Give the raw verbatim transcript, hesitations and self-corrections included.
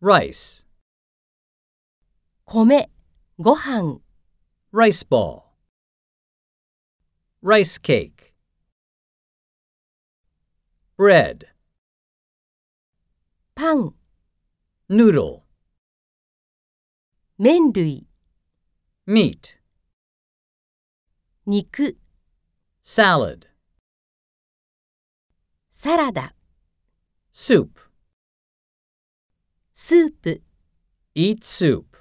rice, 米、ご飯、 rice ball, rice cake, bread, パン、 noodle, 麺類、 meat, 肉、 salad, サラダ、 soup. スープ。 Eat soup.